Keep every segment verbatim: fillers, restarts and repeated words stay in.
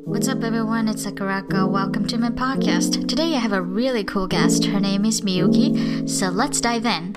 What's up, everyone? It's Sakurako. Welcome to my podcast. Today I have a really cool guest. Her name is Miyuki. So let's dive in.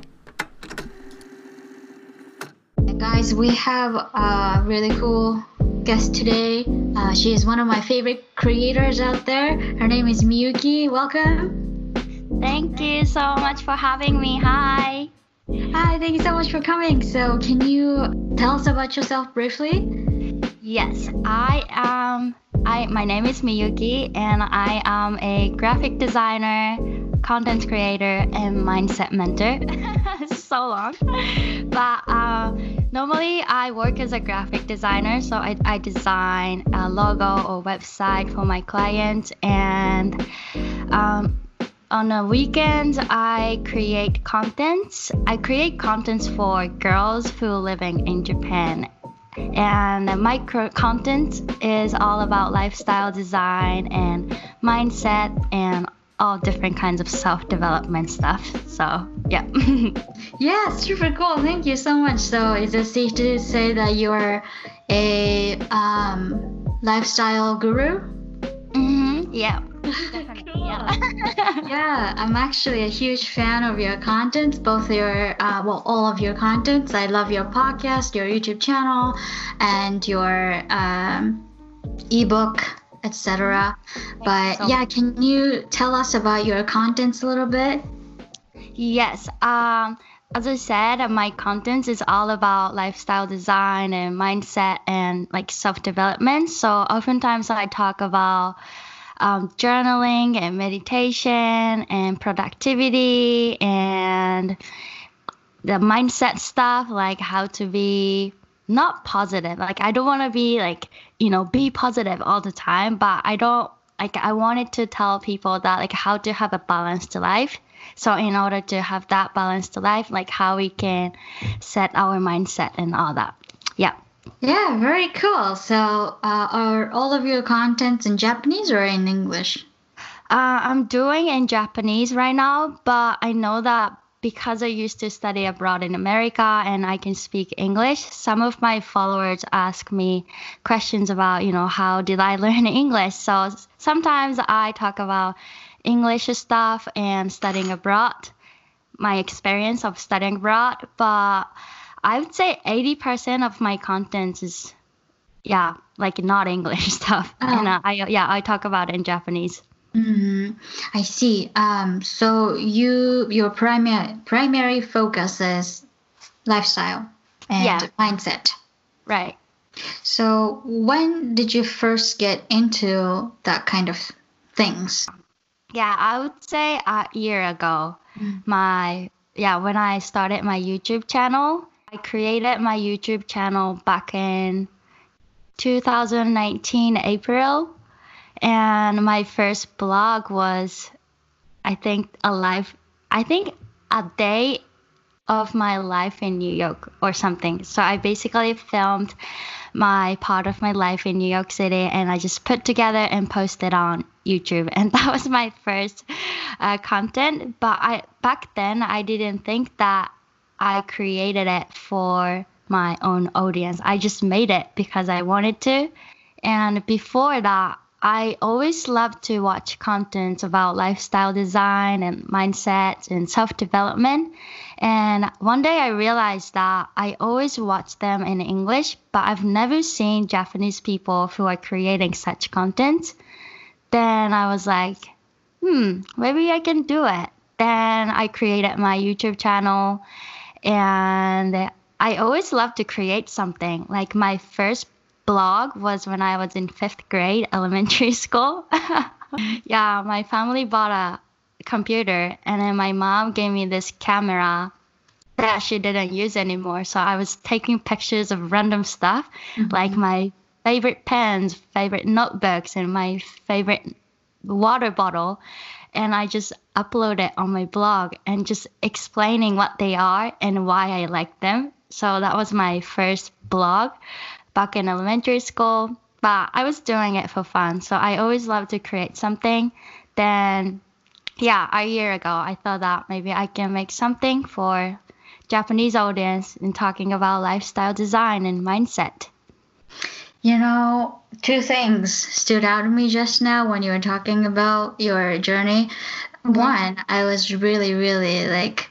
And guys, we have a really cool guest today. Uh, she is one of my favorite creators out there. Her name is Miyuki. Welcome. Thank you so much for having me. Hi. Hi, thank you so much for coming. So can you tell us about yourself briefly? Yes, I am. I my name is Miyuki, and I am a graphic designer, content creator, and mindset mentor. So long, but uh, normally I work as a graphic designer, so I, I design a logo or website for my clients, and um, on the weekends I create contents. I create contents for girls who are living in Japan. And my content is all about lifestyle design and mindset and all different kinds of self-development stuff. So, yeah. Yeah, super cool. Thank you so much. So, is it safe to say that you're a um, lifestyle guru? Mm-hmm. Yeah. Cool. Yeah. Yeah, I'm actually a huge fan of your content, both your, uh, well, all of your contents. I love your podcast, your YouTube channel, and your um, ebook, et cetera. But so yeah, can you tell us about your contents a little bit? Yes. Um, as I said, my content is all about lifestyle design and mindset and like self-development. So oftentimes I talk about Um, journaling and meditation and productivity and the mindset stuff, like how to be not positive. Like I don't want to be like, you know, be positive all the time, but I don't like, I wanted to tell people that like how to have a balanced life. So in order to have that balanced life, like how we can set our mindset and all that. Yeah. Yeah, very cool. So, uh, are all of your contents in Japanese or in English? Uh, I'm doing in Japanese right now, but I know that because I used to study abroad in America and I can speak English, some of my followers ask me questions about, you know, how did I learn English? So sometimes I talk about English stuff and studying abroad, my experience of studying abroad, but I would say eighty percent of my content is, yeah, like not English stuff. Oh. And uh, I, yeah, I talk about it in Japanese. Mm-hmm. I see. Um, so you, your primary primary focus is lifestyle and Yeah. mindset. Right. So when did you first get into that kind of things? Yeah, I would say a year ago. Mm. My, yeah, when I started my YouTube channel, I created my YouTube channel back in two thousand nineteen April, and my first blog was, I think, a life, I think a day of my life in New York or something. So I basically filmed my part of my life in New York City, and I just put together and posted on YouTube, and that was my first uh, content. But I back then I didn't think that I created it for my own audience. I just made it because I wanted to. And before that, I always loved to watch content about lifestyle design and mindset and self-development. And one day I realized that I always watch them in English, but I've never seen Japanese people who are creating such content. Then I was like, hmm, maybe I can do it. Then I created my YouTube channel. And I always loved to create something. Like my first blog was when I was in fifth grade elementary school. Yeah, my family bought a computer, and then my mom gave me this camera that she didn't use anymore. So I was taking pictures of random stuff, mm-hmm. like my favorite pens, favorite notebooks, and my favorite water bottle. And I just upload it on my blog and just explaining what they are and why I like them. So that was my first blog back in elementary school. But I was doing it for fun. So I always loved to create something. Then, yeah, a year ago, I thought that maybe I can make something for Japanese audience in talking about lifestyle design and mindset. You know, two things stood out to me just now when you were talking about your journey. Mhm. One, I was really, really like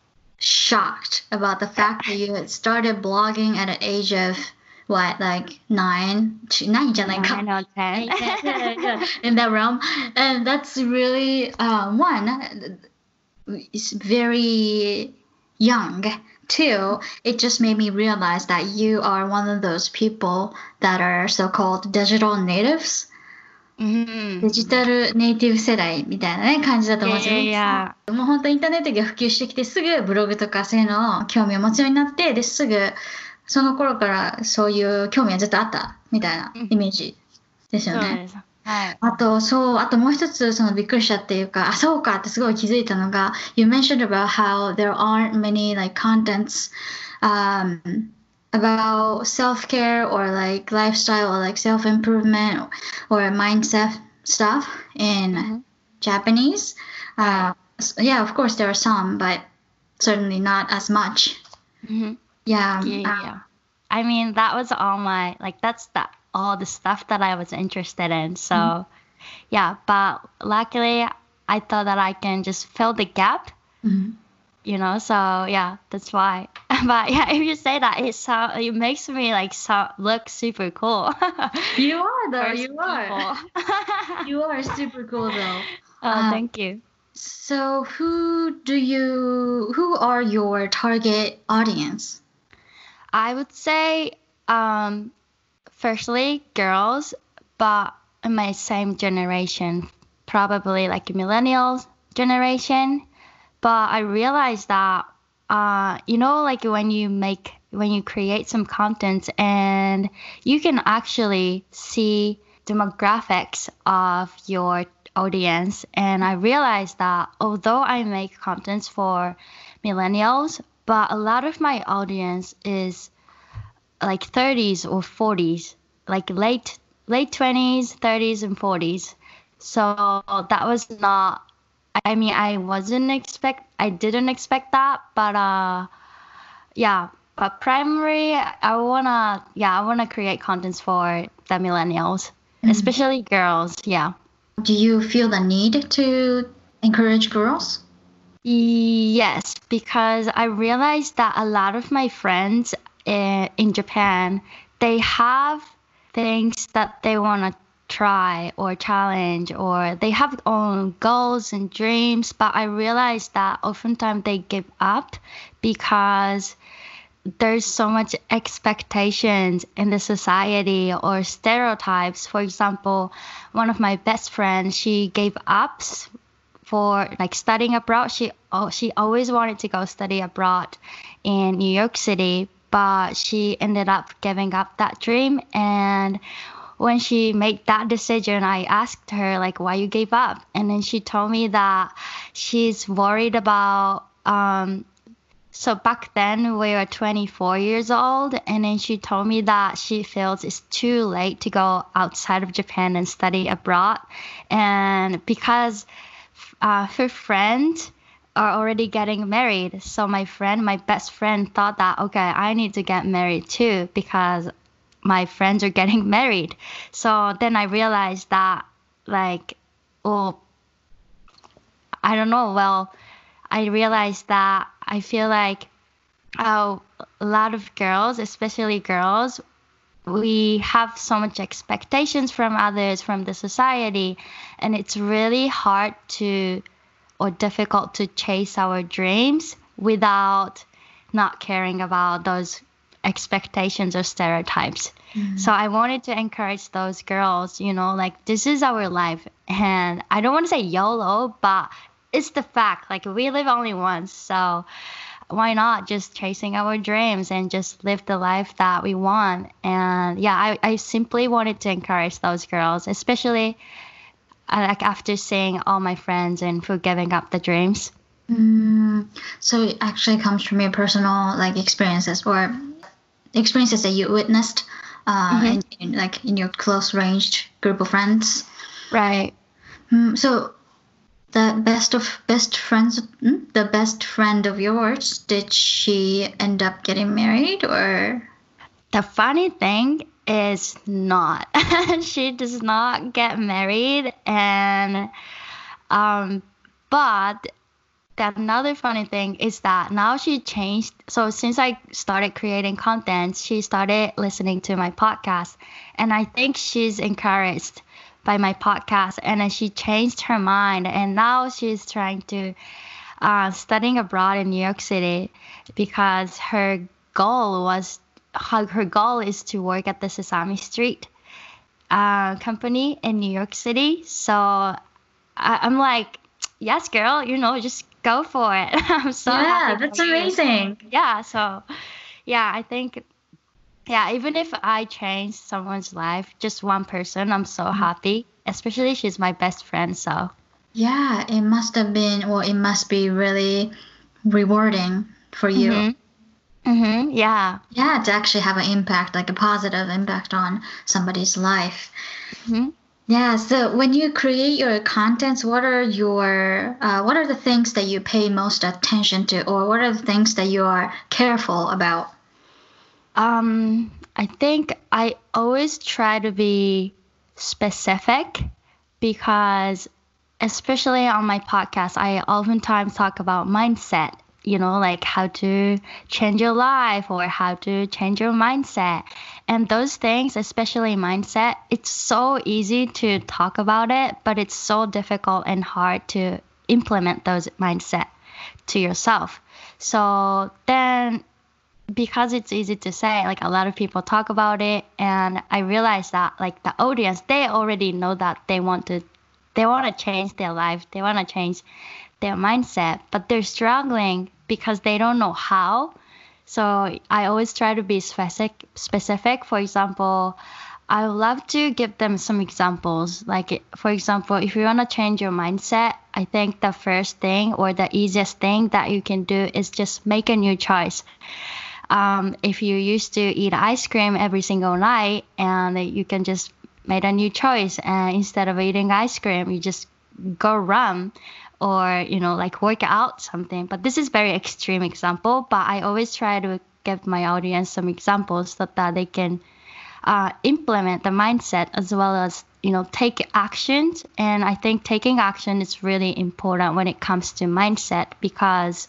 shocked about the fact that you had started blogging at an age of what, like nine? Nine じゃないか。 Nine or ten. Yeah, yeah, yeah, in that realm. And that's really, uh, one, it's very young. Two, it just made me realize that you are one of those people that are so-called digital natives. うんデジタルネイティブ世代みたいなね、感じだと思うんですよ。 いやいやもう本当インターネットが普及してきてすぐブログとかそういうのを興味を持つようになって、ですぐその頃からそういう興味はずっとあったみたいなイメージですよね。 そうです。はい。 あと、そう、あともう一つ、そのびっくりしたっていうか、あ、そうかってすごい気づいたのが、You mentioned about how there aren't many like contents um, about self-care or like lifestyle or like self-improvement or mindset stuff in Mhm. Japanese. Uh, s- yeah, of course there are some, but certainly not as much. Mhm. Yeah. Yeah, uh, yeah. I mean, that was all my like that's the all the stuff that I was interested in. So, Mhm. yeah, but luckily I thought that I can just fill the gap, mhm. you know. So, yeah, that's why. But yeah, if you say that, it sound it makes me like so, look super cool. You are though, First you are. people. You are super cool though. Oh, Uh, thank you. So who do you who are your target audience? I would say, um, firstly, girls, but in my same generation, probably like millennials generation. But I realized that, uh, you know, like when you make, when you create some content and you can actually see demographics of your audience. And I realized that although I make contents for millennials, but a lot of my audience is like thirties or forties, like late late twenties, thirties and forties. So that was not I mean I wasn't expect I didn't expect that, but uh yeah, but primary I wanna yeah, I wanna create contents for the millennials, Mm. especially girls, yeah. Do you feel the need to encourage girls? Yes, because I realized that a lot of my friends uh, in Japan, they have things that they want to try or challenge, or they have own goals and dreams, but I realized that oftentimes they give up because there's so much expectations in the society or stereotypes. For example, one of my best friends, she gave up for like studying abroad. She oh, she always wanted to go study abroad in New York City, but she ended up giving up that dream. And when she made that decision, I asked her like, why you gave up? And then she told me that she's worried about um so back then we were twenty-four years old, and then she told me that she feels it's too late to go outside of Japan and study abroad. And because uh, her friends are already getting married, so my friend, my best friend, thought that, okay, I need to get married too because my friends are getting married. So then I realized that, like, well, I don't know. Well, I realized that I feel like uh, a lot of girls, especially girls, we have so much expectations from others, from the society, and it's really hard to or difficult to chase our dreams without not caring about those expectations or stereotypes. Mm. So I wanted to encourage those girls, you know, like this is our life. And I don't want to say YOLO, but it's the fact. Like we live only once. So why not just chasing our dreams and just live the life that we want? And yeah, I, I simply wanted to encourage those girls, especially uh, like after seeing all my friends and for giving up the dreams. Mm, so it actually comes from your personal like experiences or experiences that you witnessed uh, Mhm. in, in like in your close ranged group of friends. Right. Mm, so the best of best friends, mm, the best friend of yours, did she end up getting married or? The funny thing is not. She does not get married, and um, but the another funny thing is that now she changed. So since I started creating content, she started listening to my podcast, and I think she's encouraged by my podcast, and then she changed her mind, and now she's trying to uh, studying abroad in New York City because her goal was her, her goal is to work at the Sesame Street uh, company in New York City. So I, I'm like, yes, girl, you know, just go for it. I'm so Yeah, happy that's for you. amazing. Yeah, so yeah, I think yeah, even if I change someone's life, just one person, I'm so happy. Especially she's my best friend, so Yeah, it must have been, or it must be really rewarding for you. mhm. Mhm. Yeah. Yeah, to actually have an impact, like a positive impact on somebody's life. Mhm. Yeah, so when you create your contents, what are your uh, what are the things that you pay most attention to, or what are the things that you are careful about? Um, I think I always try to be specific because, especially on my podcast, I oftentimes talk about mindset, you know, like how to change your life or how to change your mindset. And those things, especially mindset, it's so easy to talk about it, but it's so difficult and hard to implement those mindset to yourself. So then because it's easy to say, like a lot of people talk about it, and I realize that like the audience, they already know that they want to they want to change their life, they want to change their mindset, but they're struggling because they don't know how. So I always try to be specific specific. For example, I would love to give them some examples. Like, for example, if you want to change your mindset, I think the first thing or the easiest thing that you can do is just make a new choice. Um, if you used to eat ice cream every single night and you can just make a new choice, and instead of eating ice cream, you just go run or, you know, like work out something. But this is very extreme example, but I always try to give my audience some examples so that they can uh, implement the mindset as well as, you know, take actions. And I think taking action is really important when it comes to mindset because,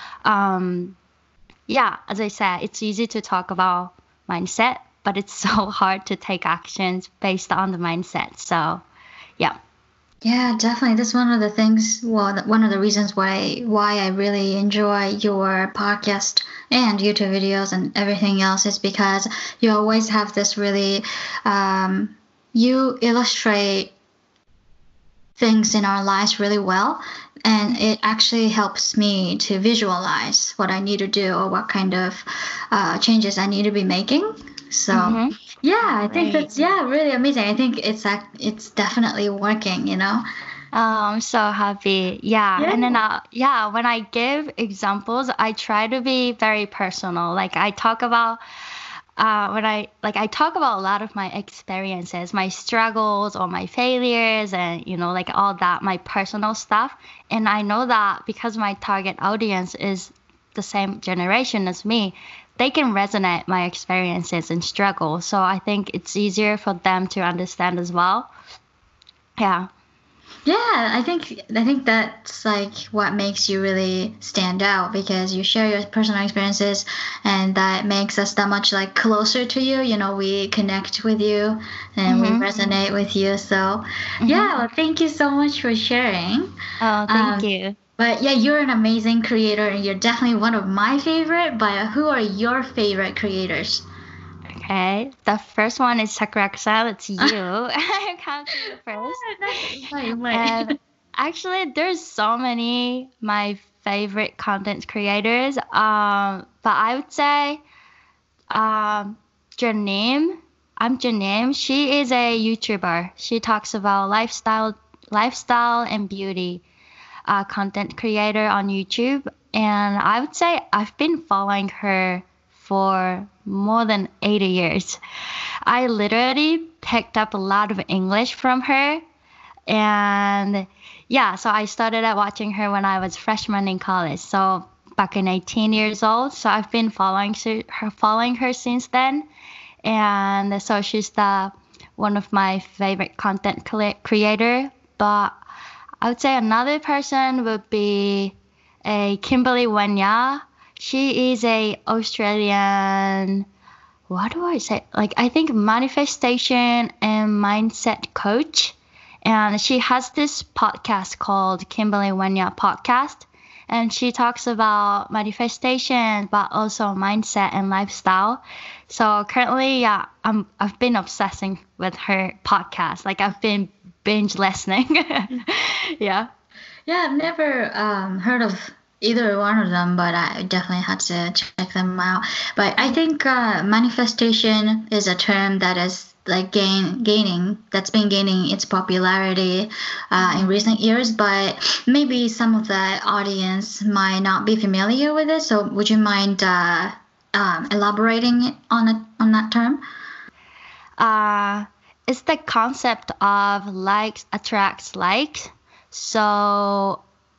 um, yeah, as I said, it's easy to talk about mindset, but it's so hard to take actions based on the mindset. So, yeah. Yeah, definitely. That's one of the things. Well, th- one of the reasons why why I really enjoy your podcast and YouTube videos and everything else is because you always have this really. Um, you illustrate things in our lives really well, and it actually helps me to visualize what I need to do or what kind of uh, changes I need to be making. So Mm-hmm. yeah, I think Great. that's yeah really amazing. I think it's ac- it's definitely working. You know. Oh, I'm so happy. Yeah. Yeah. And then, uh, yeah, when I give examples, I try to be very personal. Like I talk about, uh, when I, like I talk about a lot of my experiences, my struggles or my failures and, you know, like all that, my personal stuff. And I know that because my target audience is the same generation as me, they can resonate my experiences and struggles. So I think it's easier for them to understand as well. Yeah. Yeah, I think I think that's like what makes you really stand out because you share your personal experiences and that makes us that much like closer to you. You know, we connect with you and we Mm-hmm. resonate with you. So Mm-hmm. yeah, well, thank you so much for sharing. Oh, Um, thank you. But yeah, you're an amazing creator and you're definitely one of my favorite. But who are your favorite creators? Okay. The first one is Sakura-san. It's you. I come to you first. Wait, wait. And actually, there's so many my favorite content creators. Um, but I would say um, Janeem. I'm Janeem. She is a YouTuber. She talks about lifestyle, lifestyle and beauty. Uh, content creator on YouTube, and I would say I've been following her for more than eighty years. I literally picked up a lot of English from her, and yeah, so I started at watching her when I was freshman in college. So back in eighteen years old. So I've been following her, following her since then. and so she's the one of my favorite content cre- creator. But I would say another person would be a Kimberly Wenya. She is a Australian, what do I say? Like, I think manifestation and mindset coach. And she has this podcast called Kimberly Wenya Podcast. And she talks about manifestation, but also mindset and lifestyle. So currently, yeah, I'm, I've been obsessing with her podcast. Like, I've been binge listening. Yeah. Yeah, I've never um, heard of either one of them, but I definitely had to check them out. But I think uh, manifestation is a term that is like gain gaining that's been gaining its popularity uh, in recent years, but maybe some of the audience might not be familiar with it. So would you mind uh, um, elaborating on it, on that term? Uh, it's the concept of likes attracts likes. So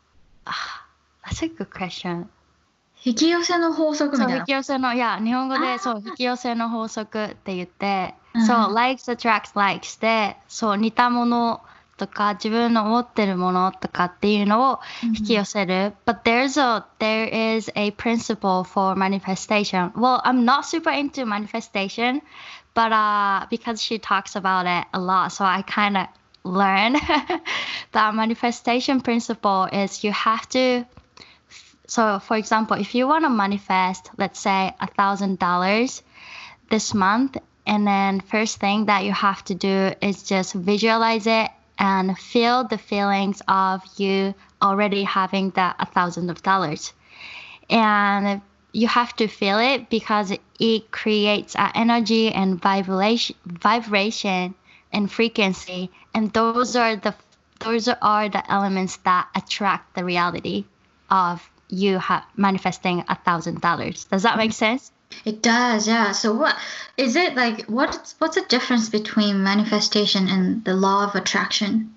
that's a good question. 引き寄せの法則みたいな。 そう、引き寄せの、いや、日本語で、そう、引き寄せの法則って言って、そう、likes attracts likes で、そう、似たものとか、自分の持ってるものとかっていうのを引き寄せる。But there's a, there is a principle for manifestation. Well, I'm not super into manifestation, but uh, because she talks about it a lot, so I kind of learn that manifestation principle is you have to. So, for example, if you want to manifest, let's say a thousand dollars this month, and then first thing that you have to do is just visualize it and feel the feelings of you already having that a thousand of dollars. And you have to feel it because it creates an energy and vibration, vibration and frequency, and those are the those are the elements that attract the reality of you ha- manifesting a thousand dollars. Does that make sense? It does, yeah. So what is it like? What's what's the difference between manifestation and the law of attraction?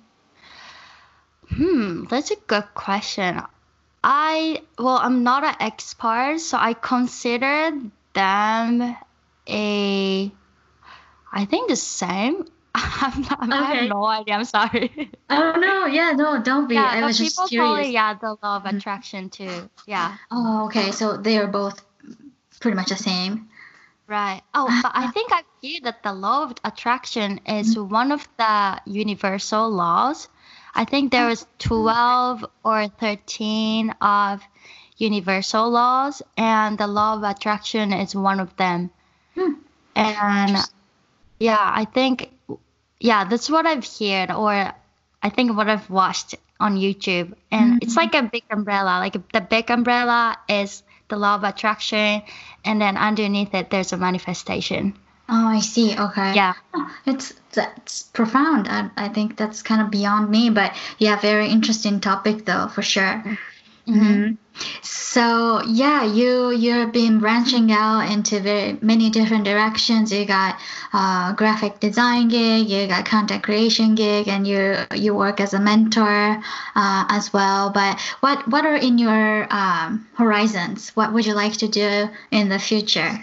Hmm, that's a good question. I well, I'm not an expert, so I consider them a. I think the same. I'm not, okay. I have no idea. I'm sorry. Oh no, yeah, no, don't be. Yeah, I was just curious. People call it, yeah, the law of attraction too. Yeah. Oh, okay. So they are both pretty much the same. Right. Oh, but I think I feel that the law of attraction is mm-hmm. one of the universal laws. I think there is twelve or thirteen of universal laws, and the law of attraction is one of them. Hmm. And yeah, I think, yeah, that's what I've heard, or I think what I've watched on YouTube. And mm-hmm. it's like a big umbrella. Like the big umbrella is the law of attraction, and then underneath it, there's a manifestation. Oh, I see. Okay. Yeah. It's that's profound. I, I think that's kind of beyond me, but yeah, very interesting topic though, for sure. Mm-hmm. Mm-hmm. So yeah, you you've been branching out into very many different directions. You got uh, graphic design gig, you got content creation gig, and you you work as a mentor uh, as well. But what what are in your um, horizons? What would you like to do in the future?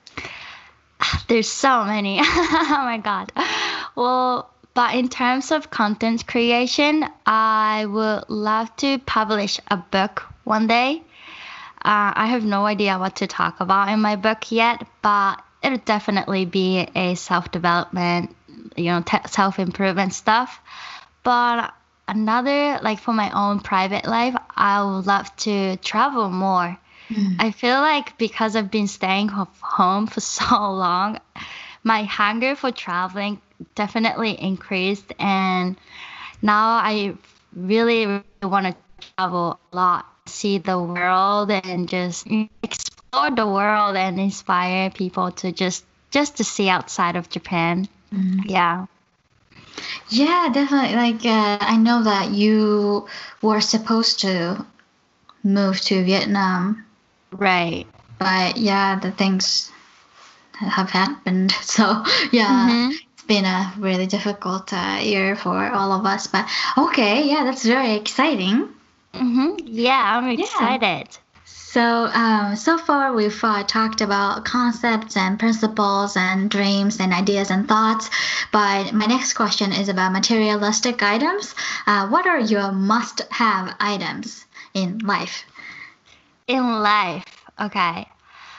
There's so many. Oh my god. Well, but in terms of content creation, I would love to publish a book one day. Uh, I have no idea what to talk about in my book yet, but it'll definitely be a self-development, you know, te- self-improvement stuff. But another, like for my own private life, I would love to travel more. Mm. I feel like because I've been staying home for so long, my hunger for traveling definitely increased, and now I really, really want to travel a lot, see the world, and just explore the world and inspire people to just just to see outside of Japan. Mm. Yeah. Yeah, definitely. Like uh, I know that you were supposed to move to Vietnam. Right. But yeah, the things have happened. So yeah, mm-hmm. It's been a really difficult uh, year for all of us. But okay, yeah, that's very exciting. Mm-hmm. Yeah, I'm excited. Yeah. So, um, so far we've uh, talked about concepts and principles and dreams and ideas and thoughts. But my next question is about materialistic items. Uh, what are your must-have items in life? In life, okay.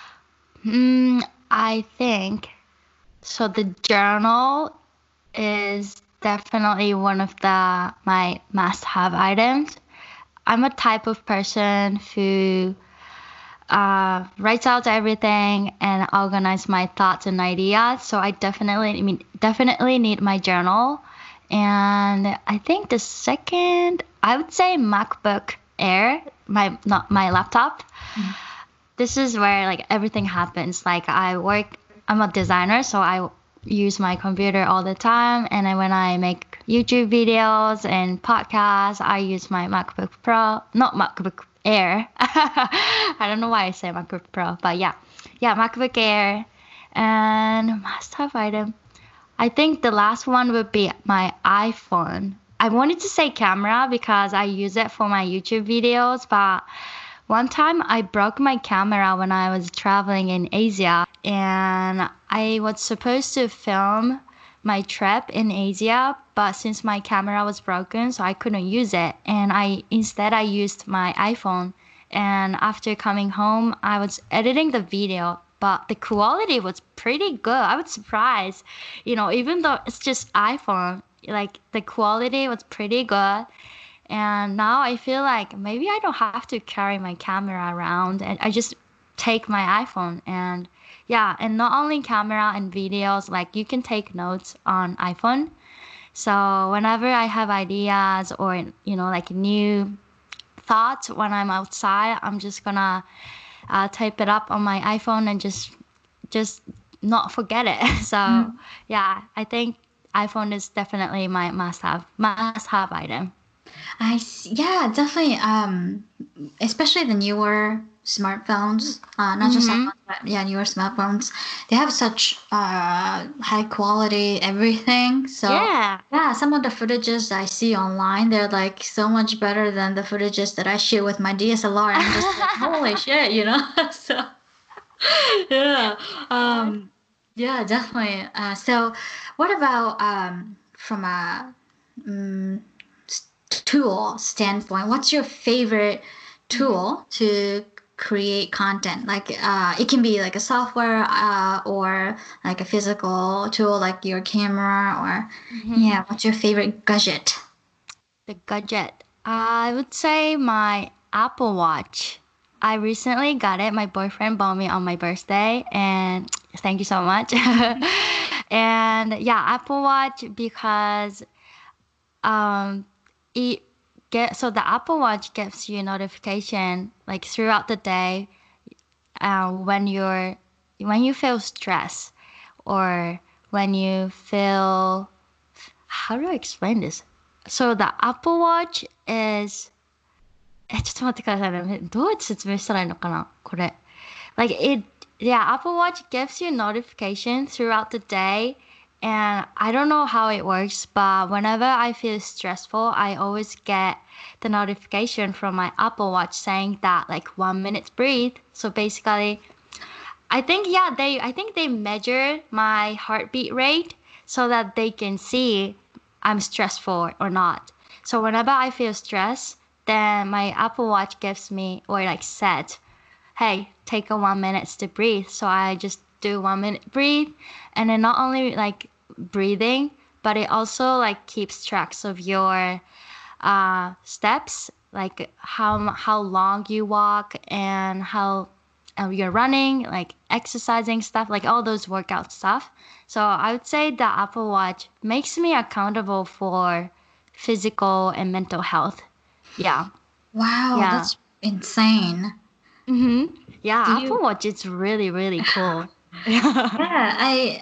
Mm, I think so. The journal is definitely one of the my must-have items. I'm a type of person who uh, writes out everything and organize my thoughts and ideas. So I definitely, I mean, definitely need my journal. And I think the second, I would say MacBook Air, my not my laptop. Mm-hmm. This is where like everything happens. Like I work, I'm a designer, so I use my computer all the time. And then when I make YouTube videos and podcasts, I use my MacBook Pro, not MacBook Air. I don't know why I say MacBook Pro, but yeah, yeah, MacBook Air. And must-have item, I think the last one would be my iPhone. I wanted to say camera because I use it for my YouTube videos, but one time I broke my camera when I was traveling in Asia, and I was supposed to film my trip in Asia, but since my camera was broken, so I couldn't use it. And I instead I used my iPhone. And after coming home, I was editing the video, but the quality was pretty good. I was surprised, you know, even though it's just iPhone, like the quality was pretty good. And now I feel like maybe I don't have to carry my camera around, and I just take my iPhone. And yeah, and not only camera and videos, like you can take notes on iPhone. So whenever I have ideas or, you know, like new thoughts when I'm outside, I'm just gonna uh, type it up on my iPhone and just just not forget it. So mm. yeah, I think iPhone is definitely my must-have must-have item. I see. Yeah, definitely. Um, especially the newer smartphones, uh, not just Mm-hmm. iPhones, but yeah, newer smartphones. They have such uh high quality everything. So Yeah. yeah, some of the footages I see online, they're like so much better than the footages that I shoot with my D S L R. I'm just like, holy shit, you know? So yeah. Um, yeah, definitely. Uh, so what about um from a um, tool standpoint, what's your favorite tool to create content? Like uh, it can be like a software uh, or like a physical tool like your camera or mm-hmm. yeah, what's your favorite gadget? The gadget. I would say my Apple Watch. I recently got it. My boyfriend bought me on my birthday, and thank you so much. And yeah, Apple Watch because um it get so the Apple Watch gives you a notification like throughout the day uh, when you're when you feel stress or when you feel, how do I explain this? So the Apple Watch is えちょっと待ってくださいね。どうやって説明したらいいのかなこれ。Like it, yeah, Apple Watch gives you notification throughout the day. And I don't know how it works, but whenever I feel stressful, I always get the notification from my Apple Watch saying that like one minute breathe. So basically, I think, yeah, they, I think they measure my heartbeat rate so that they can see I'm stressful or not. So whenever I feel stressed, then my Apple Watch gives me, or like said, hey, take a one minute to breathe. So I just do one minute breathe, and then not only like breathing, but it also like keeps tracks of your uh, steps, like how how long you walk and how uh, you're running, like exercising stuff, like all those workout stuff. So I would say the Apple Watch makes me accountable for physical and mental health. Yeah. Wow, yeah. That's insane. Mm-hmm. Yeah, Do Apple you... Watch is really, really cool. Yeah, I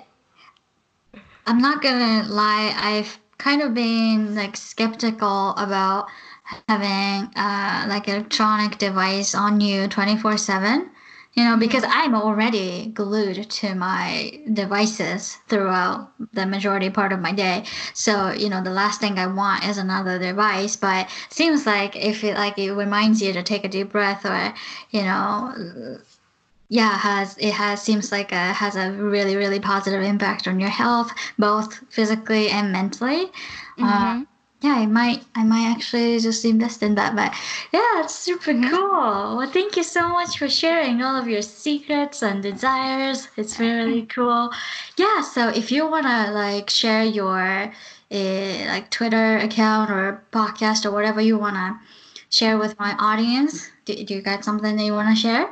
I'm not gonna lie, I've kind of been like skeptical about having uh like electronic device on you twenty-four seven. You know, because I'm already glued to my devices throughout the majority part of my day. So, you know, the last thing I want is another device. But it seems like if it like it reminds you to take a deep breath, or, you know, yeah, has it has seems like a has a really, really positive impact on your health, both physically and mentally. Mm-hmm. Uh, yeah, I might I might actually just invest in that. But yeah, it's super cool. Well, thank you so much for sharing all of your secrets and desires. It's really cool. Yeah, so if you wanna like share your uh, like Twitter account or podcast or whatever you wanna share with my audience, do, do you got something that you wanna share?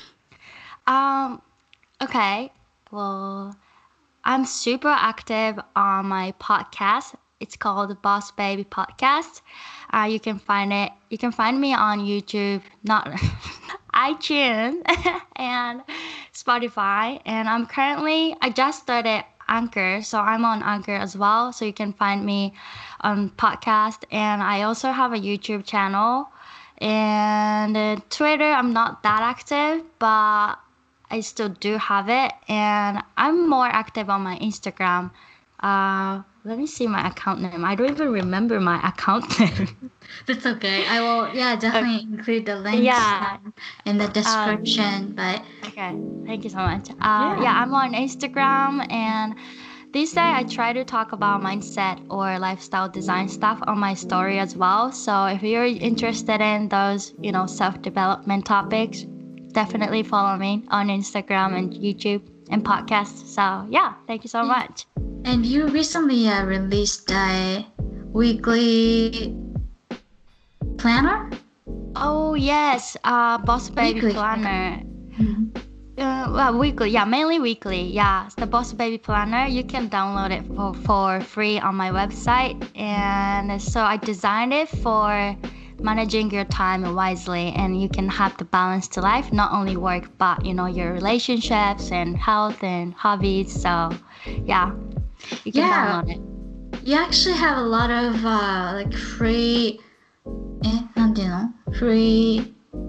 Um, okay. Well, I'm super active on my podcast. It's called the Boss Baby Podcast. Uh, you can find it. You can find me on YouTube, not iTunes, and Spotify. And I'm currently. I just started Anchor, so I'm on Anchor as well. So you can find me on podcast. And I also have a YouTube channel. And uh, Twitter, I'm not that active, but I still do have it, and I'm more active on my Instagram. Uh, let me see my account name. I don't even remember my account name. That's okay. I will, yeah, definitely include the links Yeah. um, in the description. but Okay, thank you so much. Uh, yeah, I'm on Instagram, and these days I try to talk about mindset or lifestyle design stuff on my story as well. So if you're interested in those, you know, self-development topics, definitely follow me on Instagram and YouTube and podcasts. So yeah, thank you so Yeah. much. And you recently uh, released a weekly planner? Oh yes, uh, Boss Baby Weekly. Planner. Mhm. Uh, well, weekly, yeah, mainly weekly. Yeah, it's the Boss Baby Planner. You can download it for, for free on my website. And so I designed it for managing your time wisely, and you can have the balance to life, not only work, but, you know, your relationships and health and hobbies. So yeah, you can Yeah. download it. You actually have a lot of uh, like free, eh, なんていうの? Free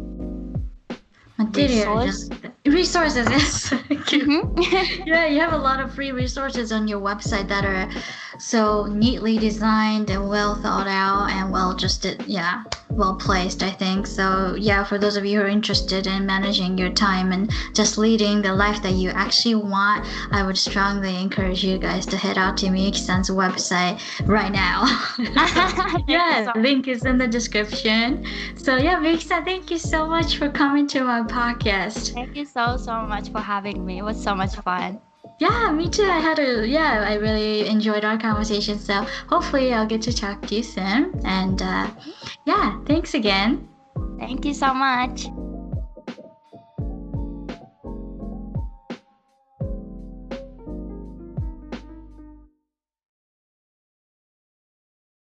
material. Resource? Resources, yes. Mhm. Yeah, you have a lot of free resources on your website that are so neatly designed and well thought out and well just yeah well placed, I think. So yeah, for those of you who are interested in managing your time and just leading the life that you actually want, I would strongly encourage you guys to head out to Miyuki-san's website right now. Yeah, link is in the description. So yeah, Miyuki-san, thank you so much for coming to my podcast. Thank you so, so much for having me. It was so much fun. Yeah, me too. I had a yeah, I really enjoyed our conversation. So hopefully I'll get to talk to you soon. And uh, yeah, thanks again. Thank you so much.